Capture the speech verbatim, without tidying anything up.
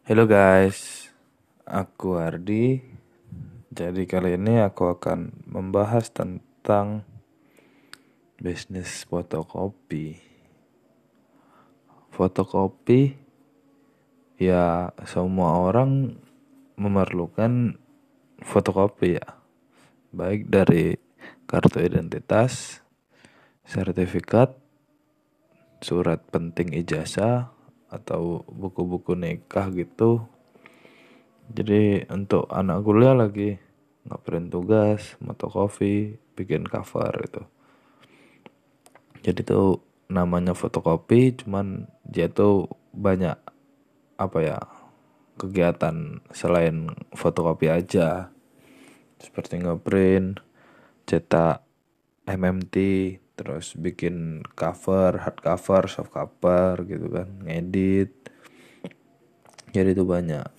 Halo guys, aku Ardi. Jadi kali ini aku akan membahas tentang bisnis fotokopi. Fotokopi ya semua orang memerlukan fotokopi ya, baik dari kartu identitas, sertifikat, surat penting ijazah, atau buku-buku nikah gitu. Jadi untuk anak kuliah lagi ngapain tugas, fotokopi, bikin cover gitu. Jadi tuh namanya fotokopi, cuman dia tuh banyak apa ya kegiatan selain fotokopi aja, seperti ngeprint, cetak M M T, terus bikin cover, hard cover, soft cover gitu kan, ngedit. Jadi itu banyak.